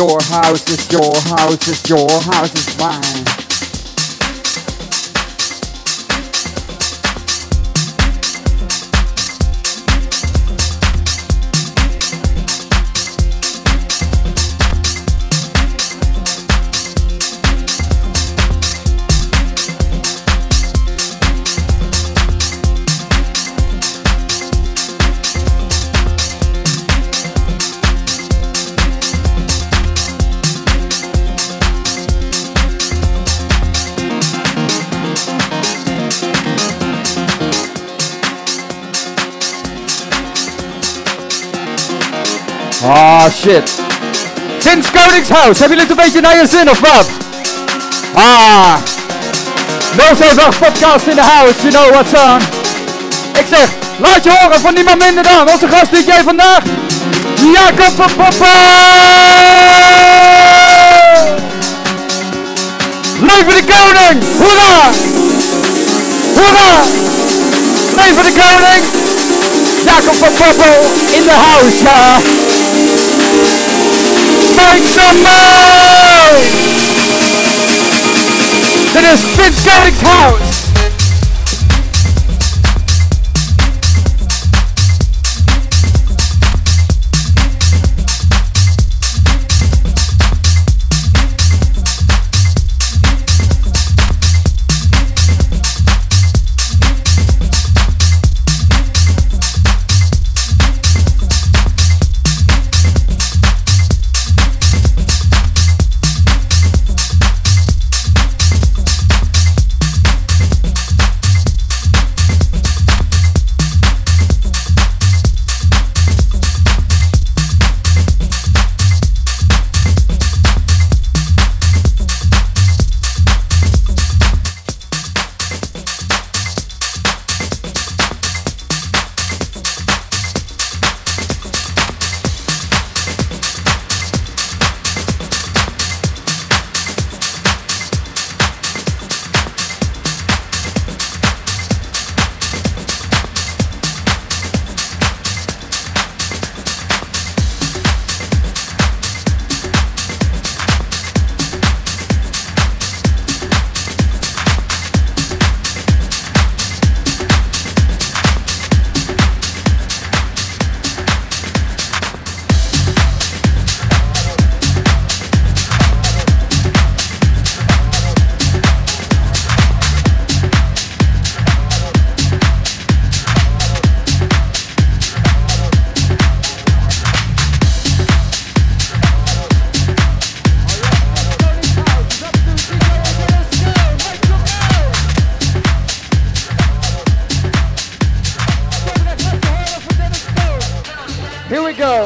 your house, it's your house, it's your house, it's mine. Ah, shit. Vince Koningshuis, hebben jullie het een beetje naar je zin of wat? Ah. 078 podcast in the house, you know what's on. Ik zeg, laat je horen van niemand minder dan onze gast DJ vandaag, Jacob Papa. Leven de koning, hoera! Hoera! Leven de koning! Jacob van Poppel in the house, ja. Make some noise! Dit is Vince Koningshuis. Here we go.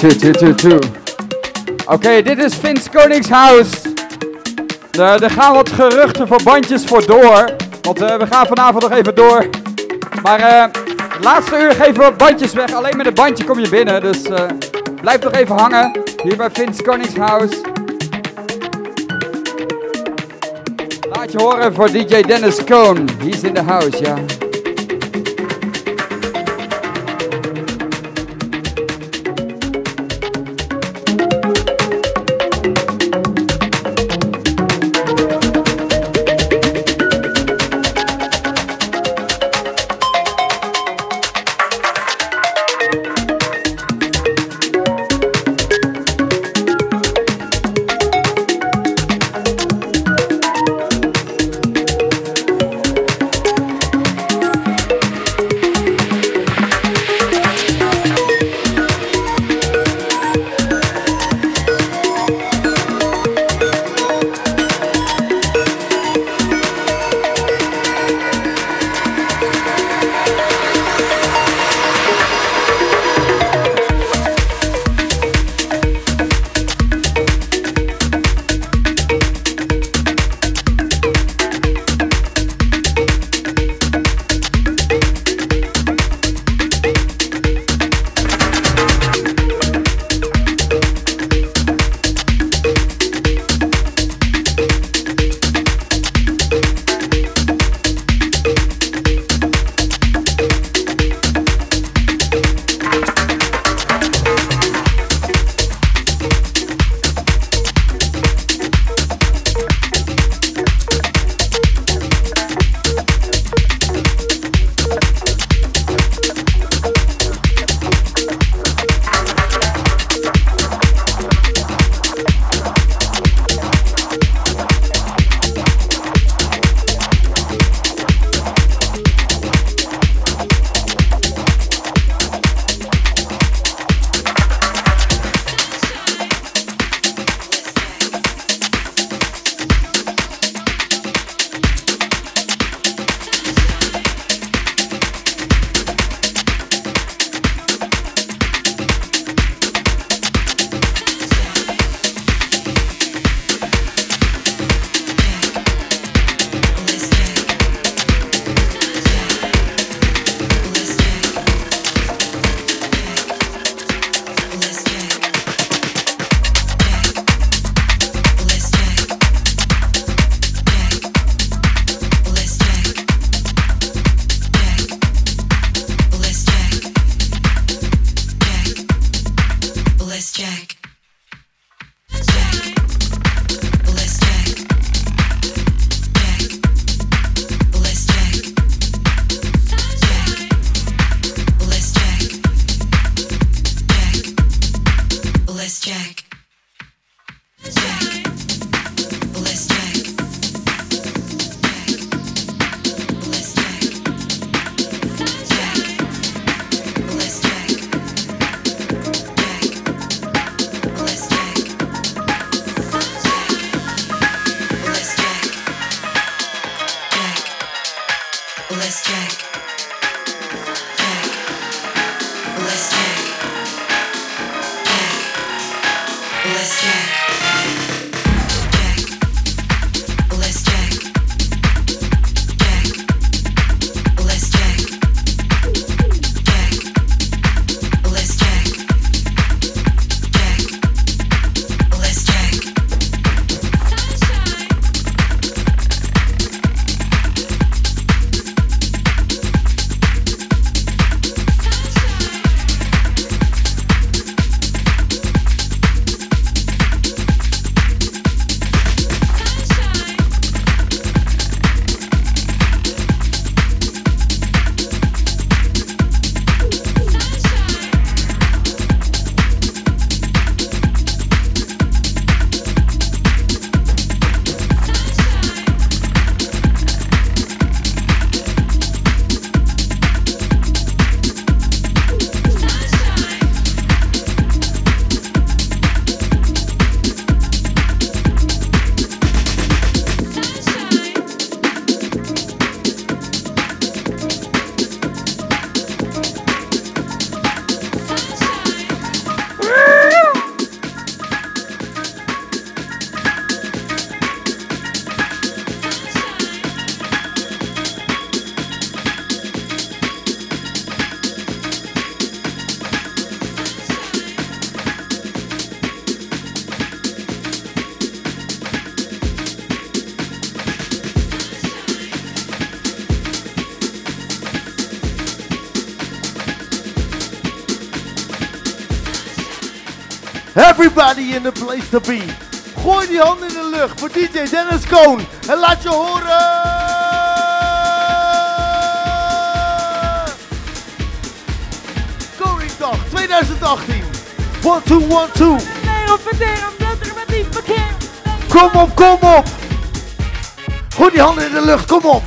Oké, dit is Vince Koningshuis. Er gaan wat geruchten voor bandjes voor door. Want we gaan vanavond nog even door. Maar laatste uur geven we bandjes weg. Alleen met een bandje kom je binnen. Dus blijf nog even hangen. Hier bij Vince Koningshuis. Laat je horen voor DJ Dennis Cohn. He's in the house, ja. Everybody in the place to be. Gooi die handen in de lucht voor DJ Dennis Koon. En laat je horen. Koningsdag 2018. 1, 2, 1, 2. Kom op, kom op. Gooi die handen in de lucht, kom op.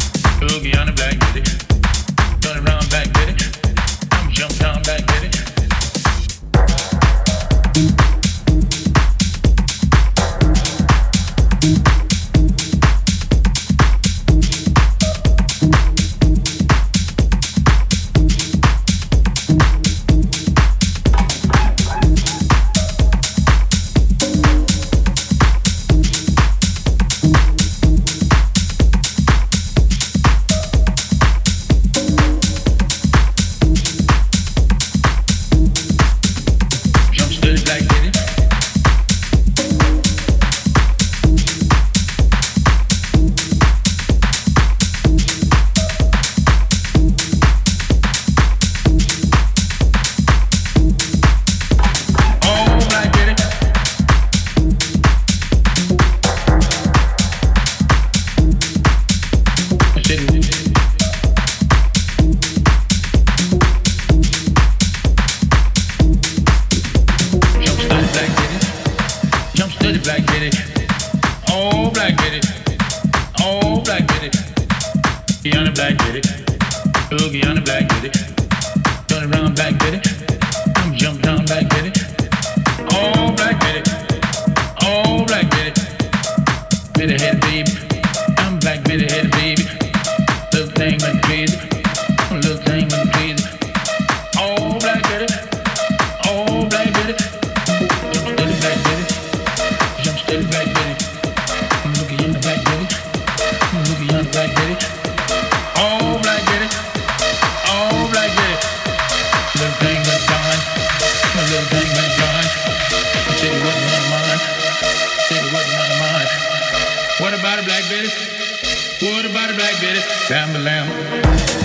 Boogie on the black, get it. Turn around back, get it. I'm jump down back, get it. black Betty. Guyana black Betty. Oh, Guyana black Betty. Turn around black Betty. I'm jump down black Betty. Oh, black Betty. Oh, black Betty. Betty head baby. I'm black Betty head baby. Little thing went crazy. Little thing went crazy. Oh, black Betty. Oh, black Betty. Jump steady black Betty. Jump steady black Betty. I'm looking in the black Betty. I'm looking in the black Betty. Oh, black Betty. Oh, black Betty. Little thing went blind. Little thing went blind. Said he wasn't on mine. Said he wasn't on mine. What about a black Betty? What about a black Betty? Lamb, lamb.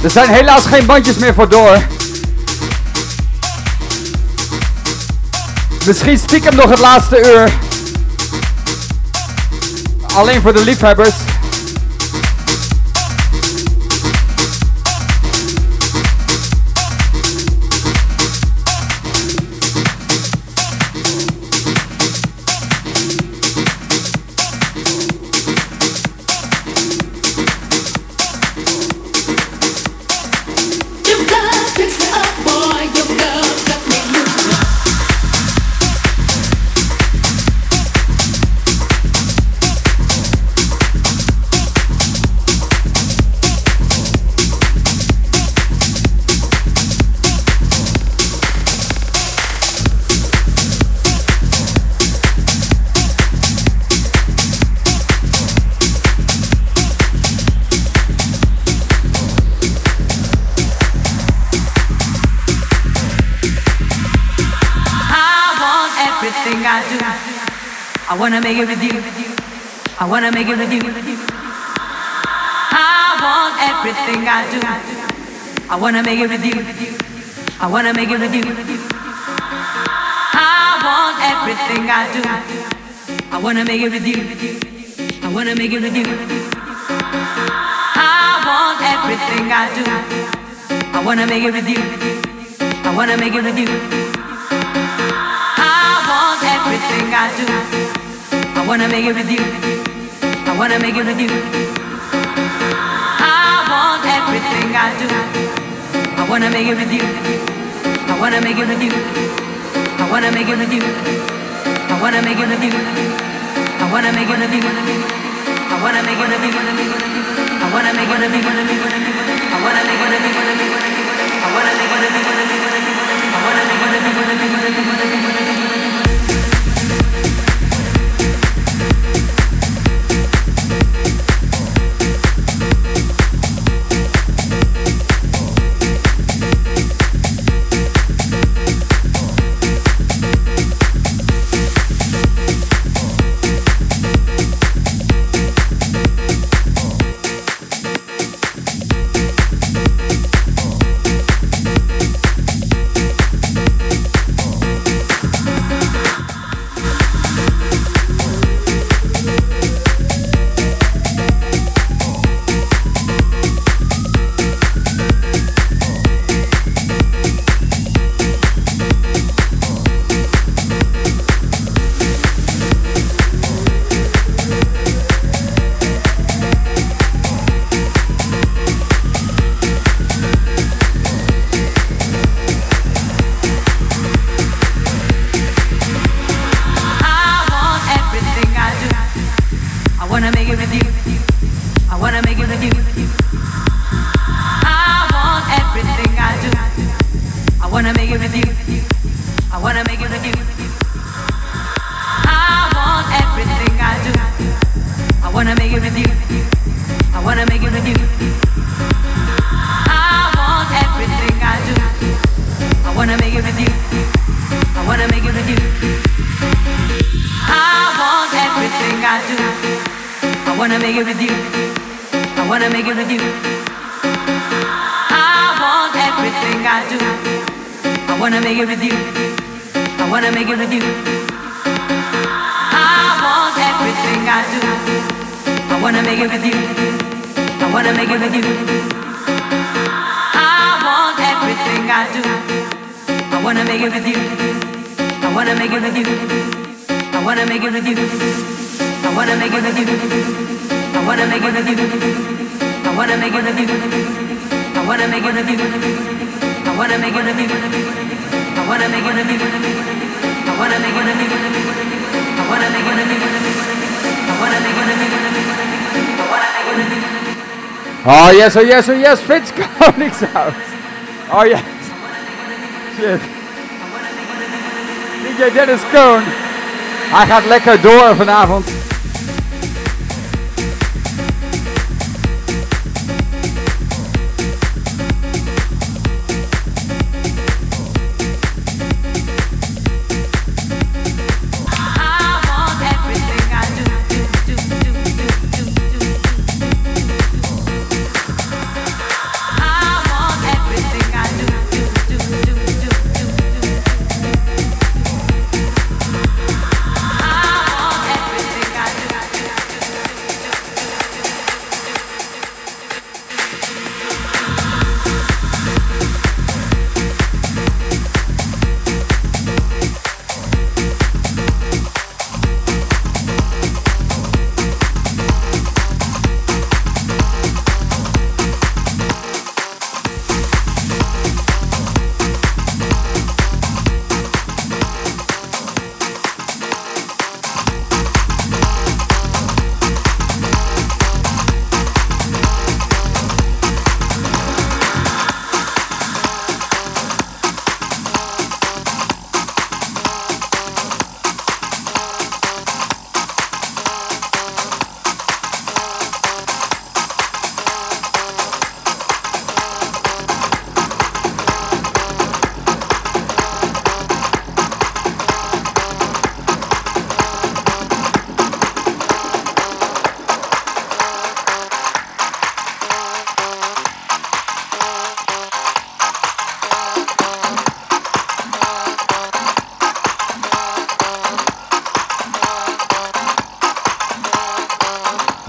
Er zijn helaas geen bandjes meer voor door. Misschien stiekem nog het laatste uur. Alleen voor de liefhebbers. I wanna make it with you. I wanna make it with you. I want everything I do. I wanna make it with you. I wanna make it with you. I want everything I do. I wanna make it with you. I wanna make it with you. I want everything I do. I wanna make it with you. I wanna make it with you. I want everything I do. I wanna make it with you. I wanna make it with you. I want everything I do. I wanna make it with you. I wanna make it with you. I wanna make it with you. I wanna make it with you. I wanna make it with you. I wanna make it with you. I wanna make it with you. I wanna make it with you. I wanna make it with you. I wanna make it with you. Oh yes, oh yes, oh yes, Frits Koningshout. Oh yes. Shit. DJ Dennis Koon. Hij gaat lekker door vanavond.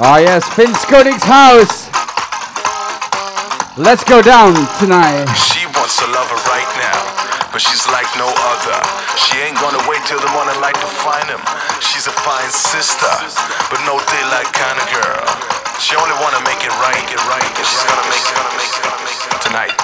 Oh yes, Vince Koning's house. Let's go down tonight. She wants a lover right now, but she's like no other. She ain't gonna wait till the morning light to find him. She's a fine sister, but no daylight kind of girl. She only wanna make it right, and she's gonna make it tonight.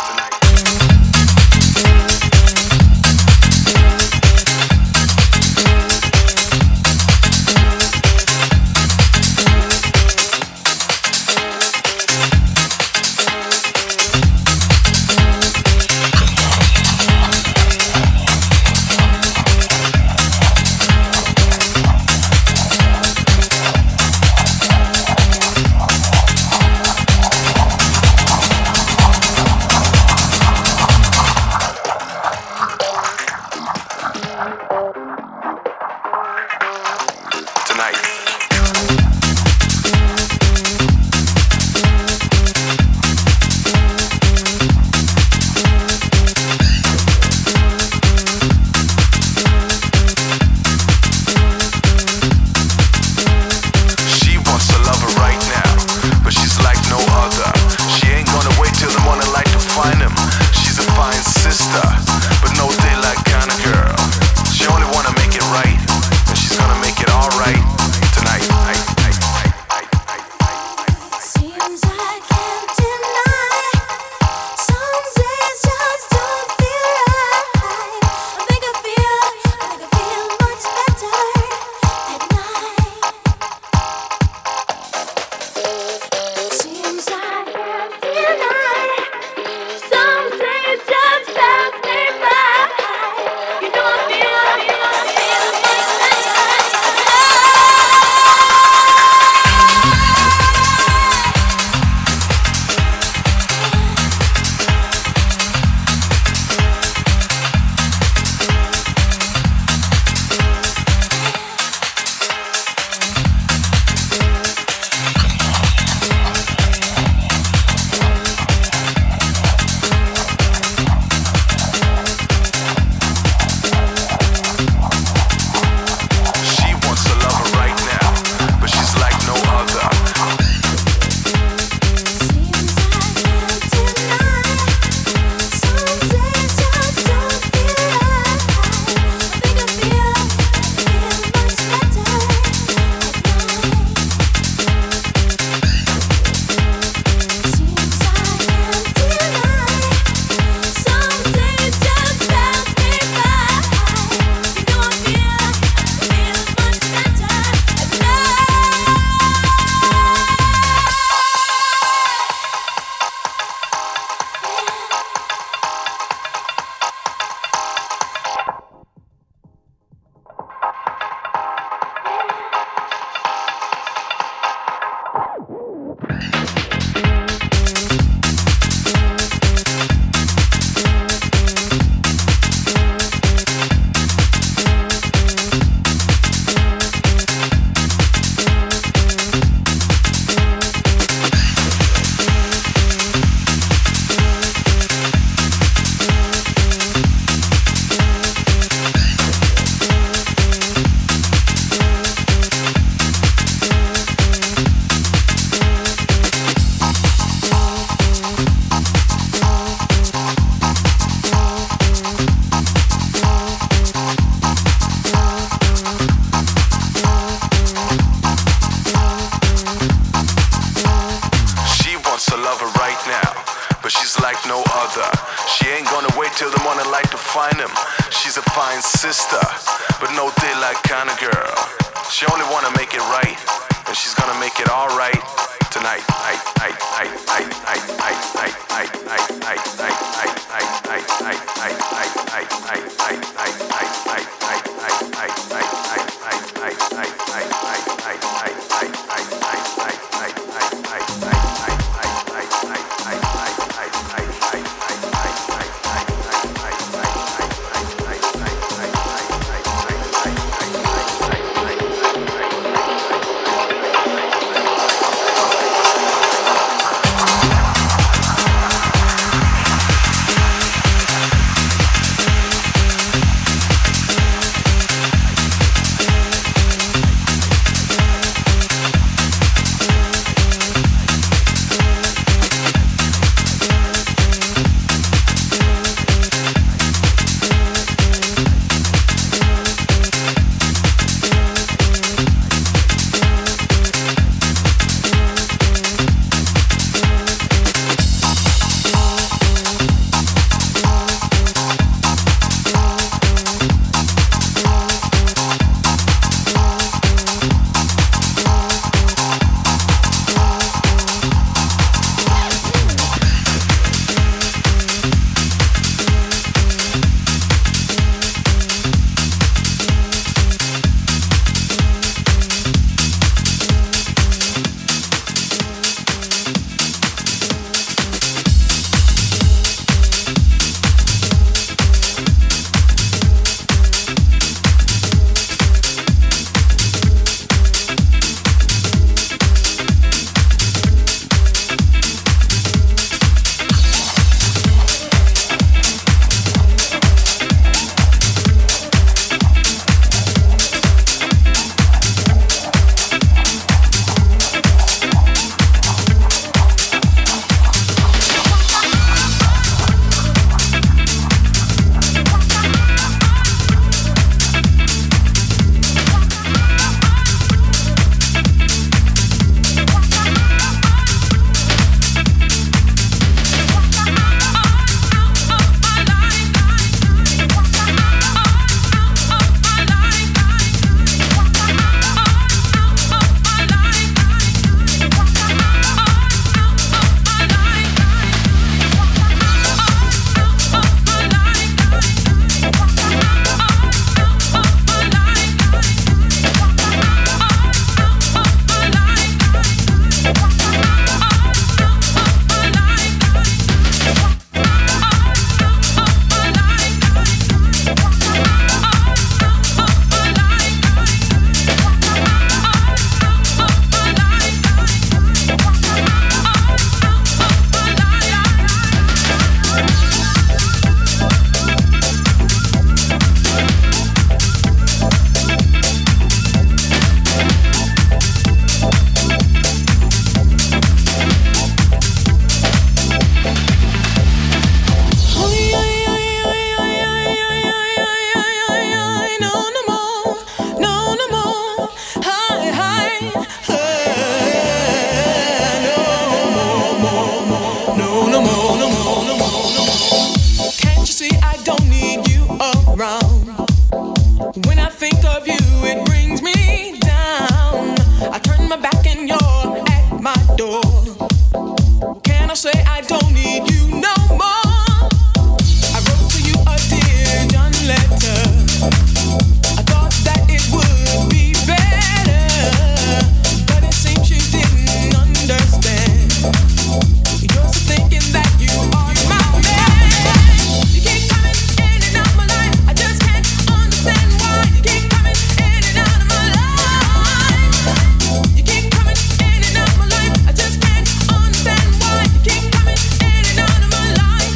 When I think of you, it brings me down. I turn my back and you're at my door. Can I say I don't need you no more? I wrote to you a dear John letter. I thought that it would be better, but it seems you didn't understand. You're still thinking that you are my man. You keep coming in and out my life. I just can't understand why you keep coming in and out of my life. You keep coming in and out my life. I just can't understand why you keep coming in and out of my life.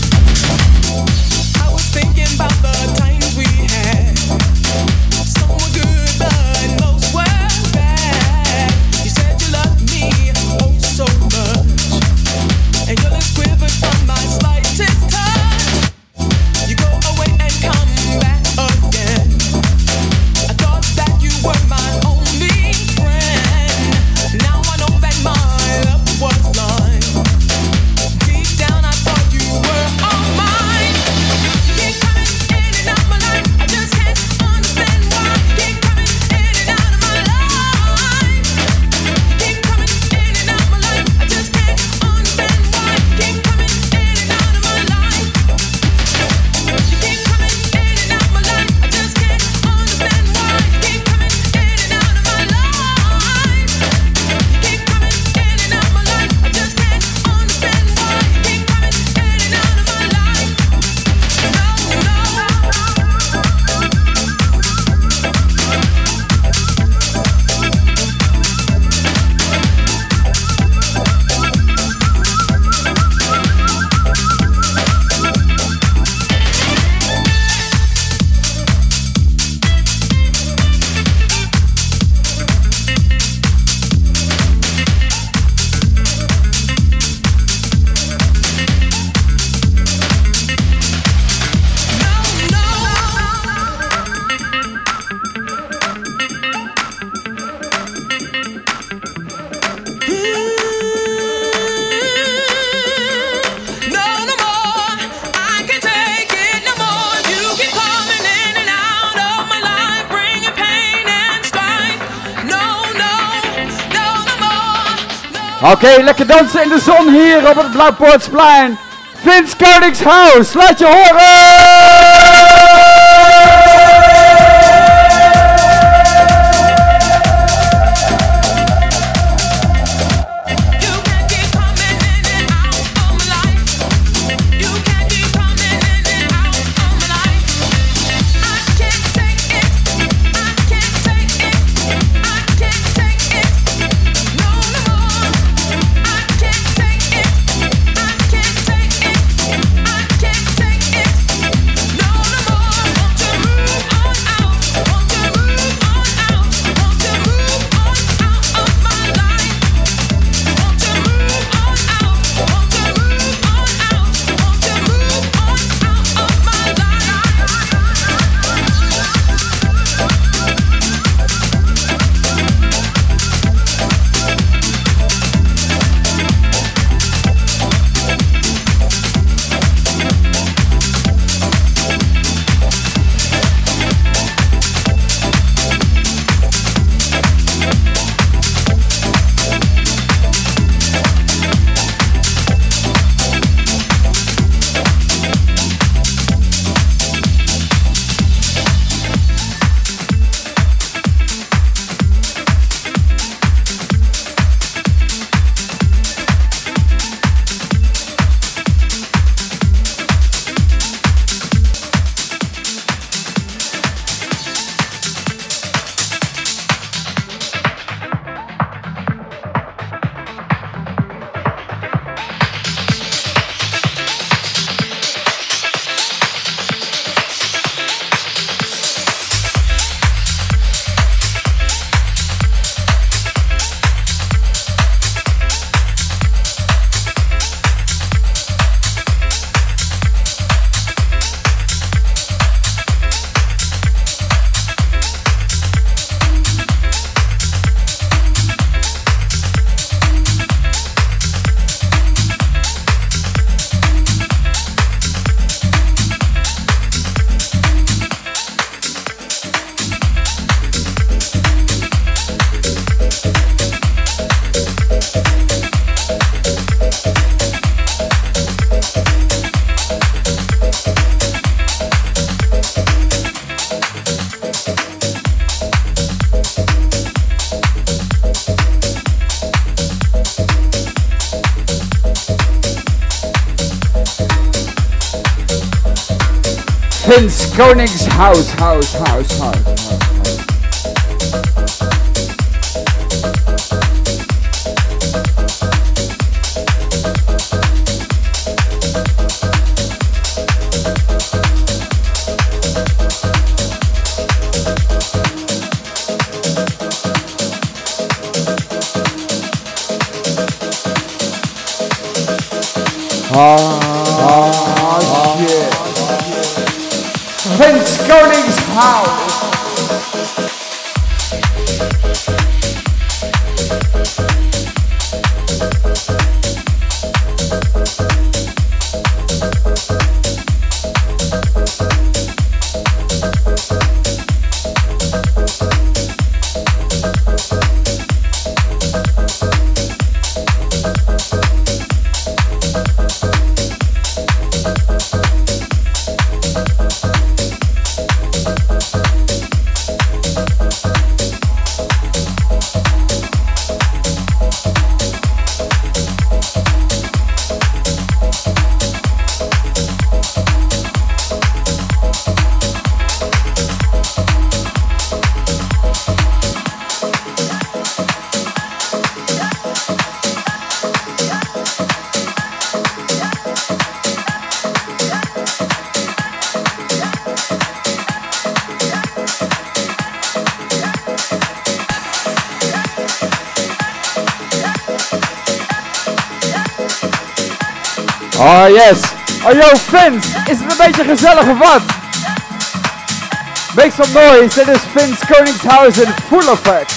I was thinking about the times we had. Some were good, but most were bad. You said you loved me oh so much, and your lips quivered from my slightest touch. You go away and come back again. I thought that you were my only friend. Now I know that my love was blind. Deep down I thought you were all mine. You keep coming in and out my life. I just can't understand why you keep coming in and out of my life. You keep coming in and out my life. I just can't understand why you keep coming in and out of my life. You keep coming in and out my life. I just can't understand why you keep coming in and out of my life. You keep coming in and out my life. I just can't understand why you keep coming in and out of my life. Oké, lekker dansen in de zon hier op het Blauwpoortsplein. Vince Konings's House, laat je horen! No Vince Koning's house. Shit. Vince Koning's house. Oh yes. Oh yo Vince, is het een beetje gezellig of wat? Make some noise, dit is Vince Koning's house in full effect.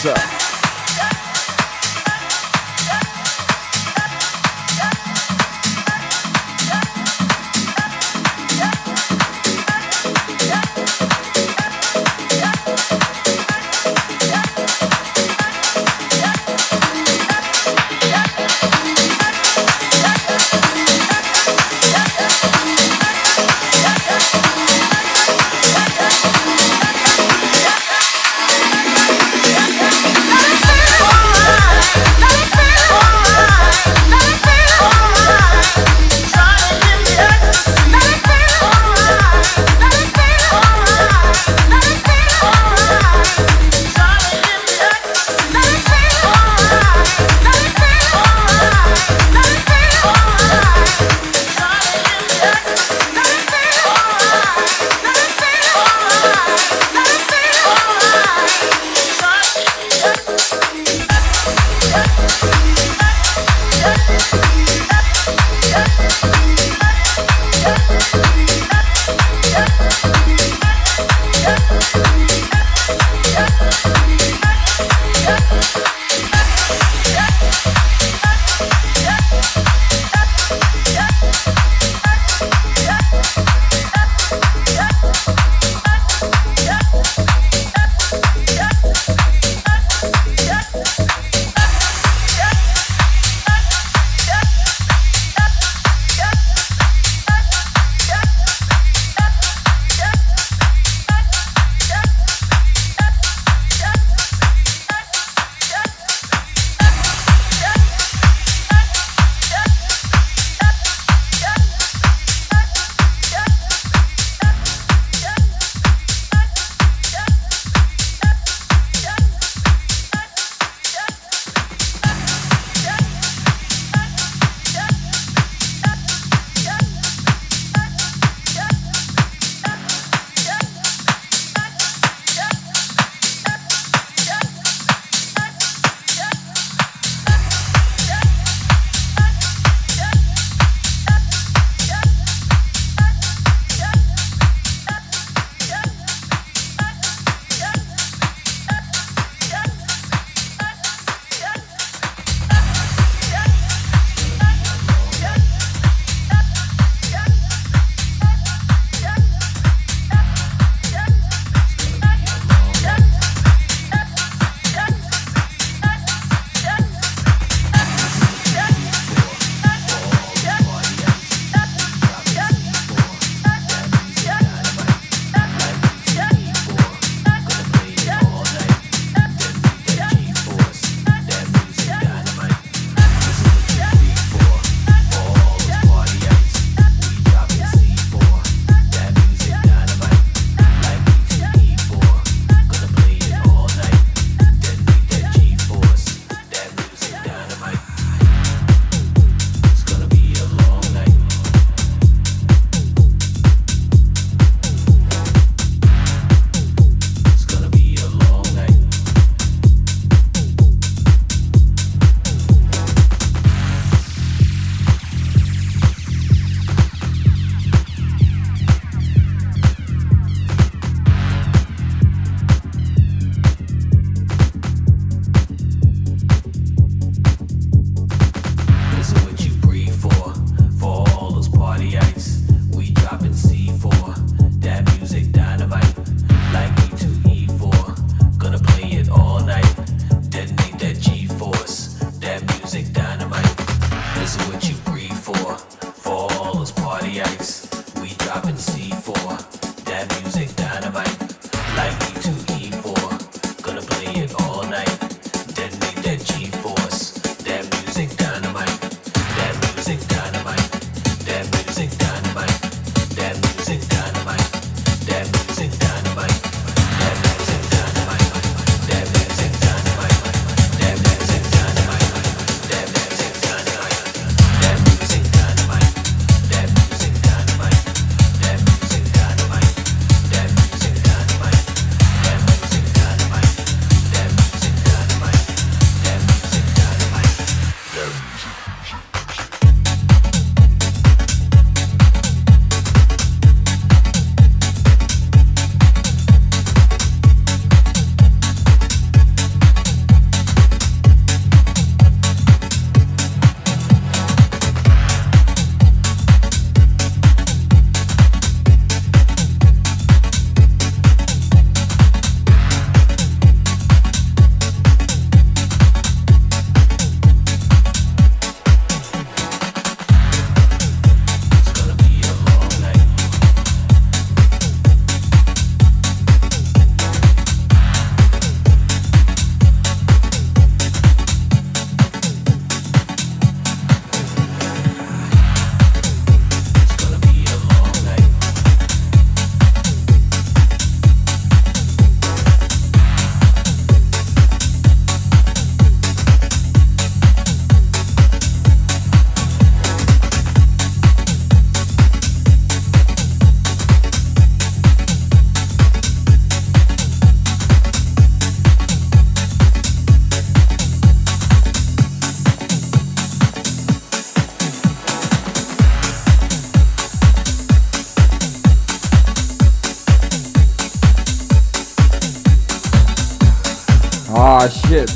Ah, shit.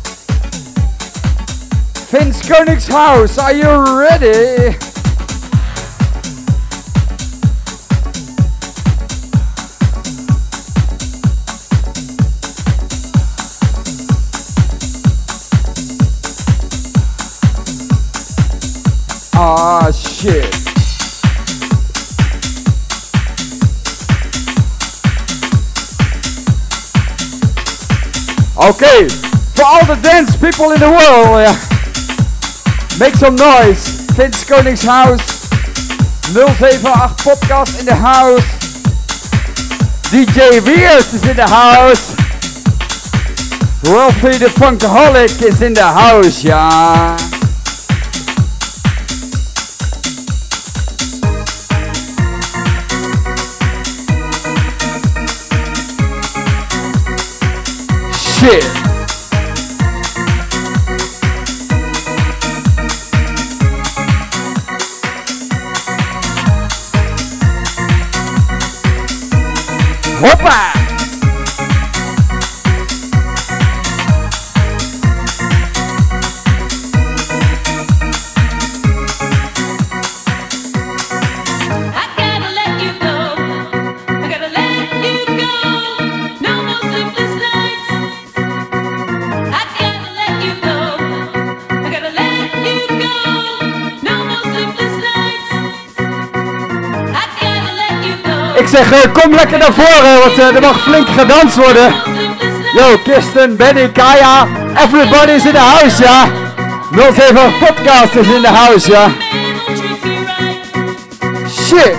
Vince Koenig's house, are you ready? Ah, shit. Okay, for all the dance people in the world, make some noise. Vince Koenig's house, 078 podcast in the house. DJ Weers is in the house. Rolfie the Funkaholic is in the house, ja. Shit. Hoppa! Ik zeg, kom lekker naar voren, want er mag flink gedanst worden. Yo, Kirsten, Benny, Kaya, everybody is in the house, ja. 078 podcast is in the house, ja. Shit.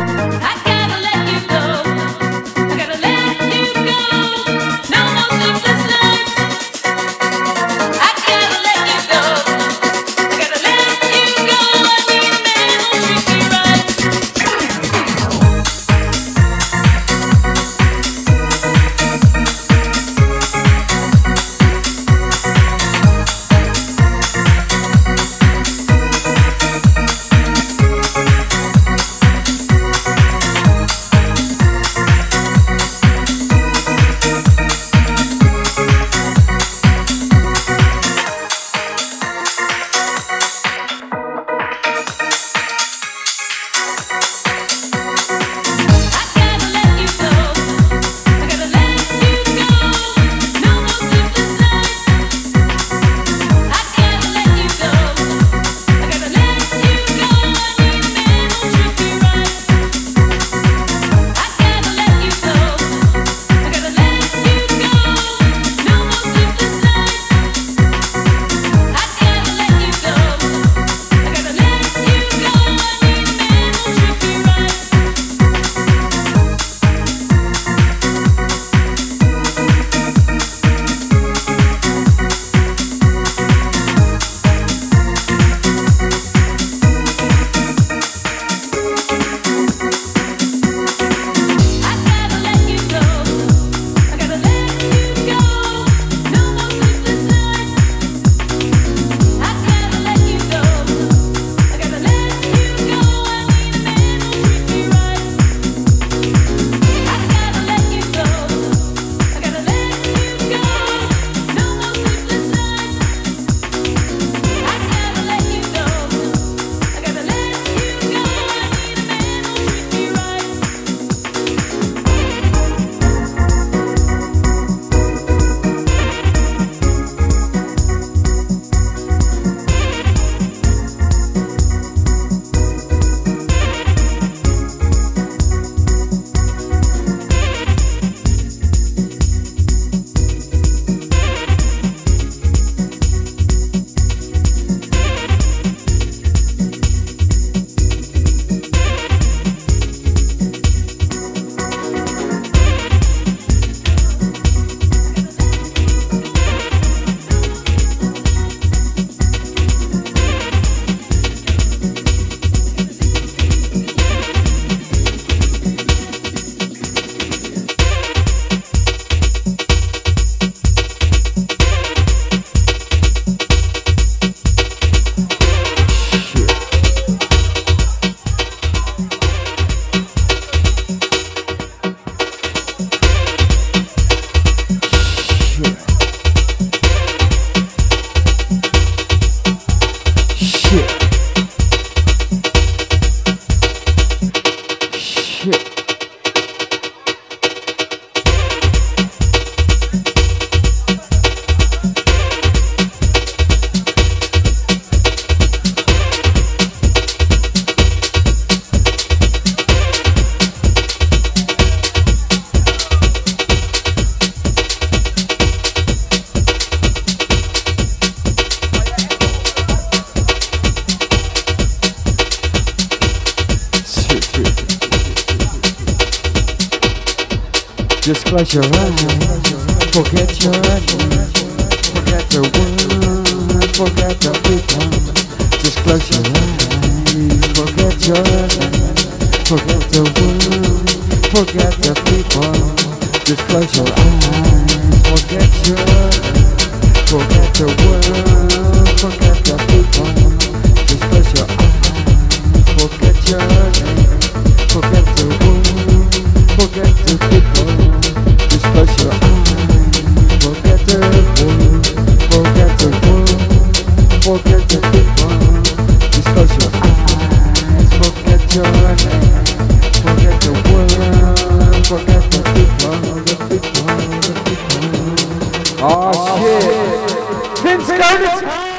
Just close your eyes, forget your name, forget the world, forget the people. Just close your eyes, forget your name, forget the world, forget the people. Just close your eyes, forget your name, forget the world, forget the people. Just close your eyes, forget your name, forget the world, forget the people. Just close your eyes, forget the world, forget the world, forget the people. Just close your eyes, forget your name, forget the world, forget the people, the people, the people. Oh shit! Vince Gardens!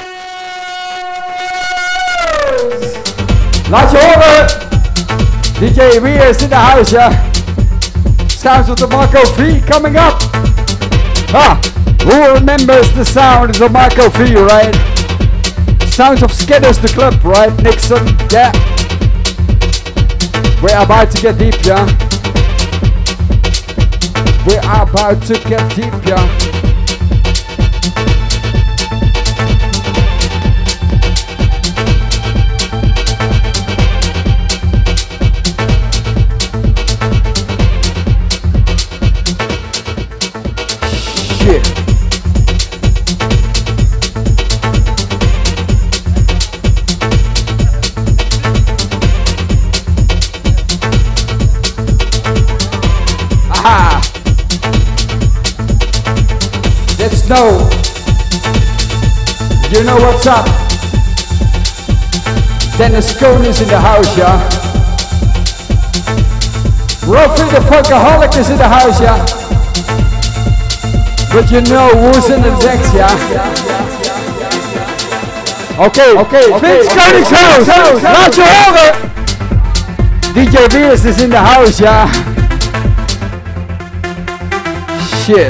Laat je horen! DJ Weir is in the house, yeah. Sounds of the Marco V coming up. Who remembers the sound of the Marco V, right? Sounds of Skidders the Club, right? Nixon, yeah. We're about to get deep, yeah. We're about to get deep, yeah. Let's know. You know what's up. Dennis Cohn is in the house, yeah. Ruffy the Funkaholic is in the house, yeah. But you know who's in the decks, yeah. Okay. Vince Konings's house. Laat je horen. DJ Weers is in the house, yeah. Shit.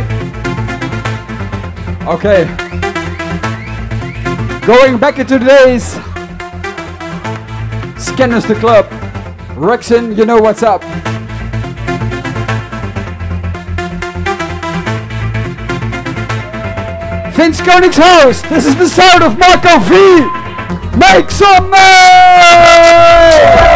Okay. Going back into the days. Scanners the Club. Rexon, you know what's up. Vince Konings's house. This is the sound of Marco V. Make some noise!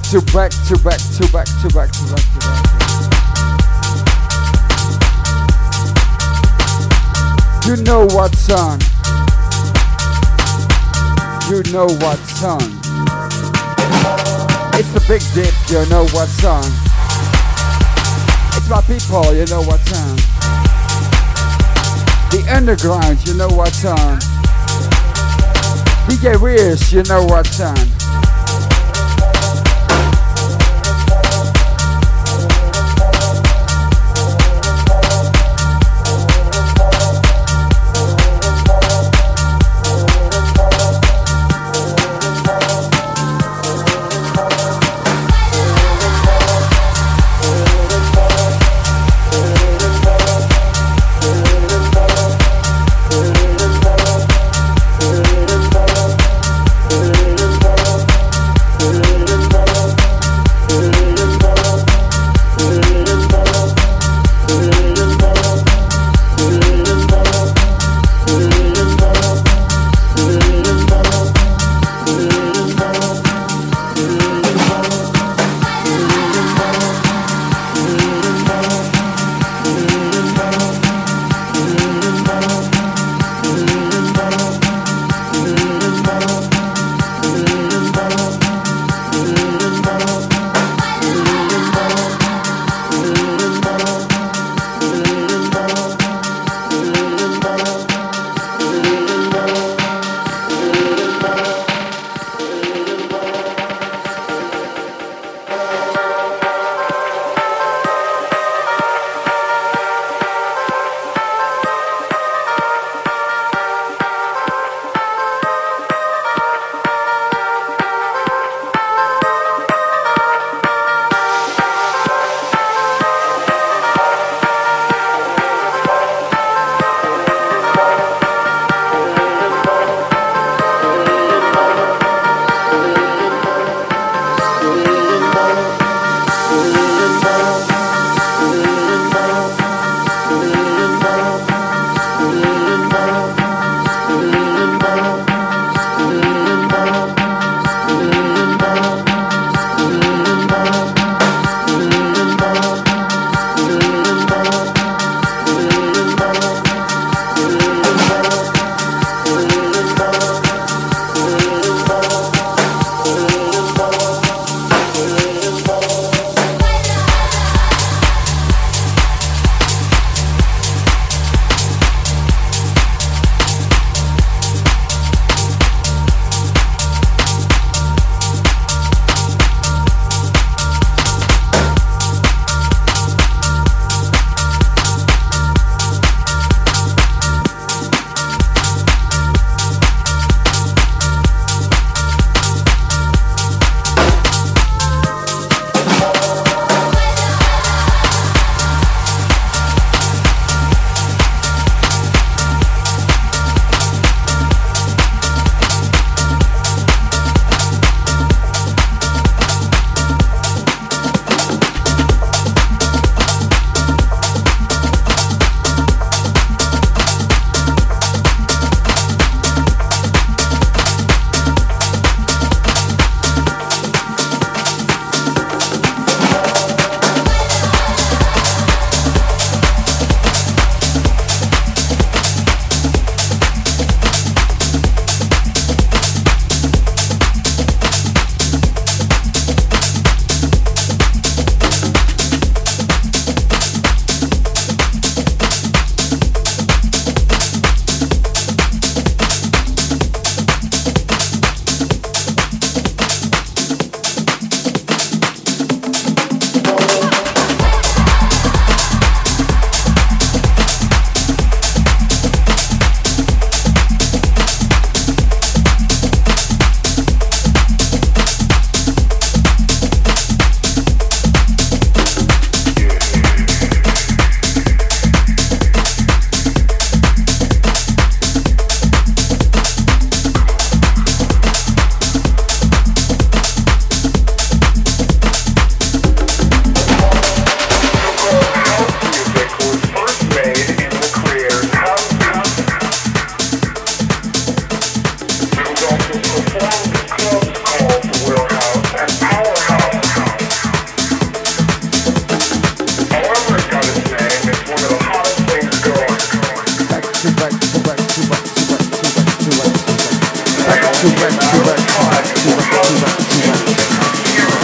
to back to back to back to back to back to back. You know what song? You know what song? It's the big dip, you know what song? It's my people, you know what song? The underground, you know what song? DJ Weirs, you know what song?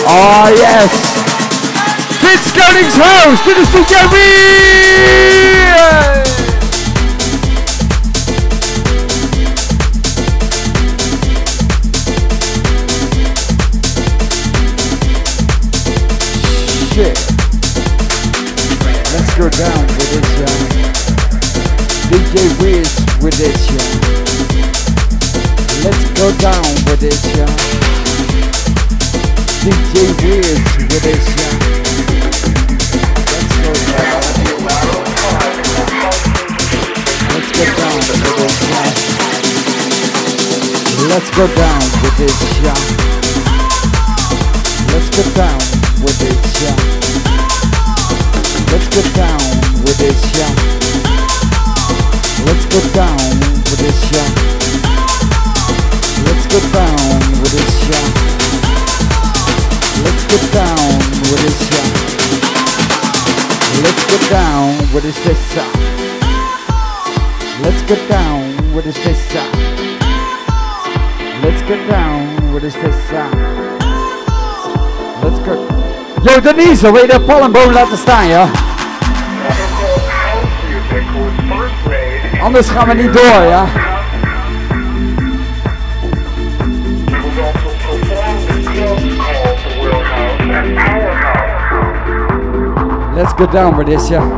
Oh yes! Vince Koningshuis, dit is DJ Weir! Shit. Let's go down with this, DJ Weir with this, Let's go down with this, DJ Weir with this, Let's go down with this, Let's go down with this, Let's go down with this, Let's go down with this, Let's go down with this, Let's go down with this, Let's go down with this, Let's go down with this fist. Let's go down with this fist. Let's go down with this fist. Let's go. Yo Denise, wil je de palmboom laten staan, ja? Anders gaan we niet door, ja? Let's go down with this, yeah.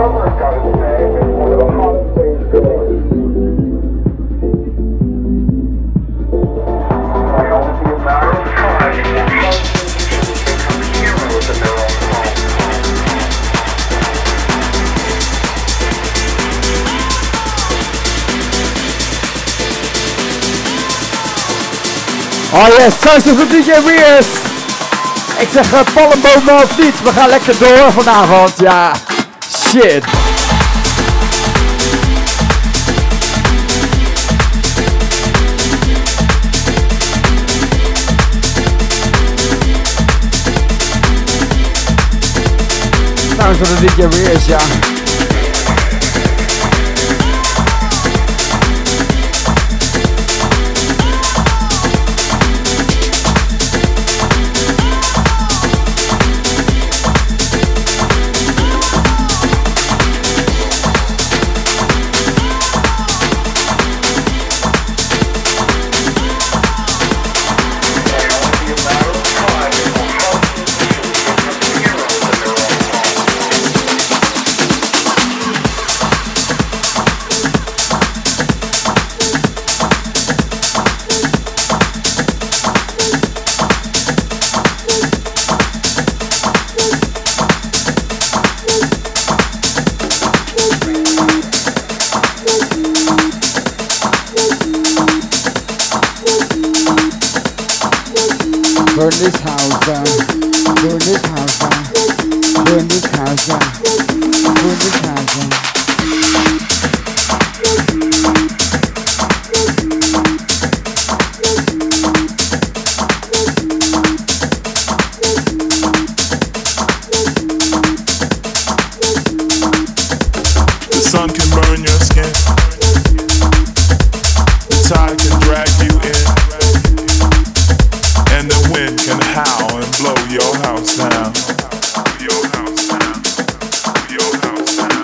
Oh yes, thuis voor DJ Weers. Ik zeg palmbomen of niet, we gaan lekker door vanavond, ja. Shit. Thuis voor de DJ Weers, ja. Burn this house down, burn this house down, burn this house down, burn this house down. The sun can burn your skin, the tide can drag you in, and the wind can howl and blow your house down. Your house down. Your house down.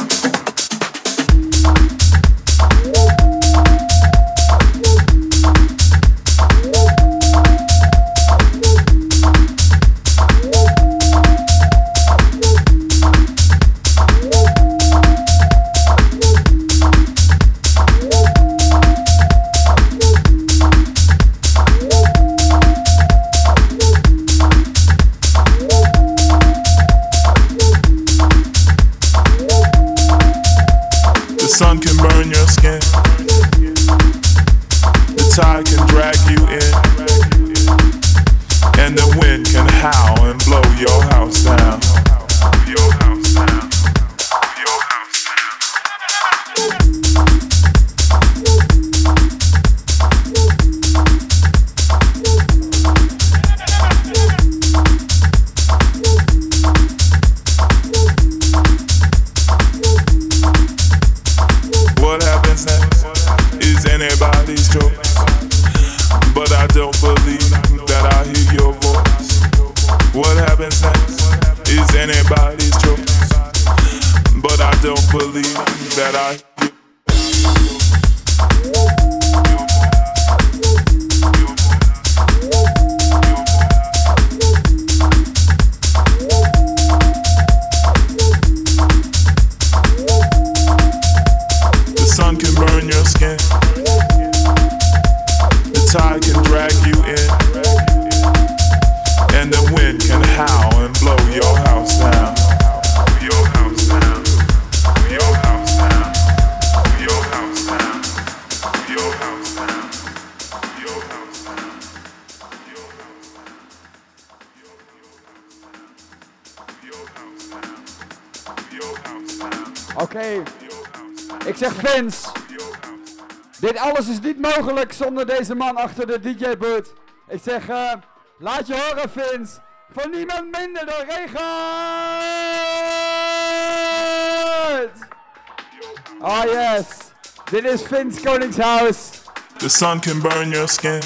The sun can burn your skin, the tide can drag you in, and the wind can howl and blow your house down. Your house down. Your house What happens next is anybody's choice, but I don't believe that I hear your voice. believe that I The sun can burn your skin. The tide can drag you in. And the wind can howl and blow your house down. Your house down. Your house down. Your house down. Your house down. Your house down. Your house down. Your house down. Your house down. Oké, ik zeg Vince. Dit alles is niet mogelijk zonder deze man achter de DJ-boot. Ik zeg, laat je horen Vince. Van niemand minder dan Regent! Oh yes, dit is Vince Koningshuis. The sun can burn your skin.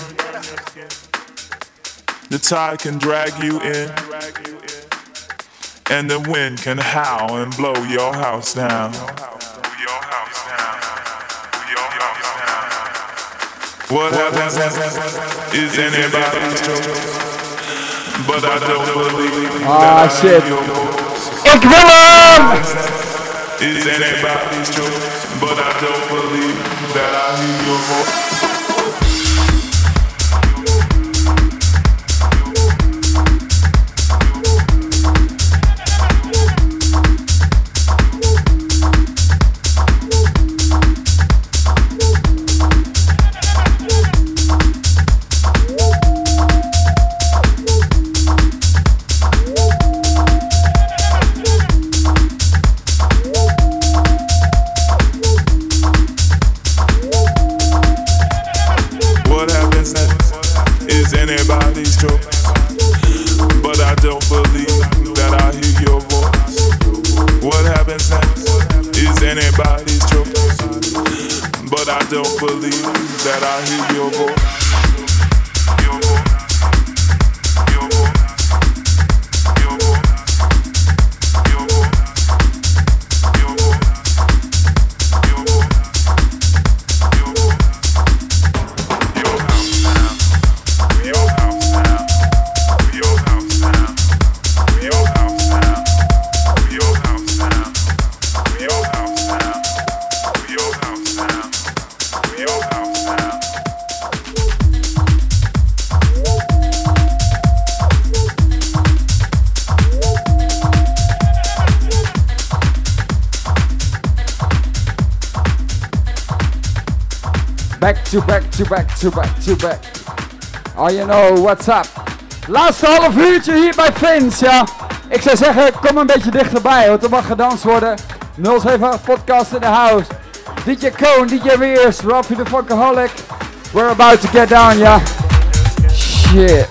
The tide can drag you in. And the wind can howl and blow your house down. Your house down. Your house down. What happens is anybody's choice. But I don't believe Ah shit. Ik wil hem! is anybody's choice. But I don't believe that I hear your voice. Anybody's choice, but I don't believe that I hear your voice. What happens next is anybody's choice, but I don't believe that I hear your voice. Your voice. Your voice. Your voice. Your voice. Your voice. Your voice. Your voice. Your house now. Your house now, your house now, your house now, your house now, your house now, your house now, your house now. Back to back to back to back to back. Oh, you know what's up. Laatste half uurtje hier bij Vince, ja. Ik zou zeggen, kom een beetje dichterbij, want er mag gedanst worden. 078 podcast in the house. DJ Cone, DJ Rears, Rafi the Funkaholic. We're about to get down, ja. Shit.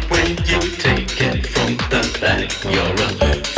when you take it from the back. You're a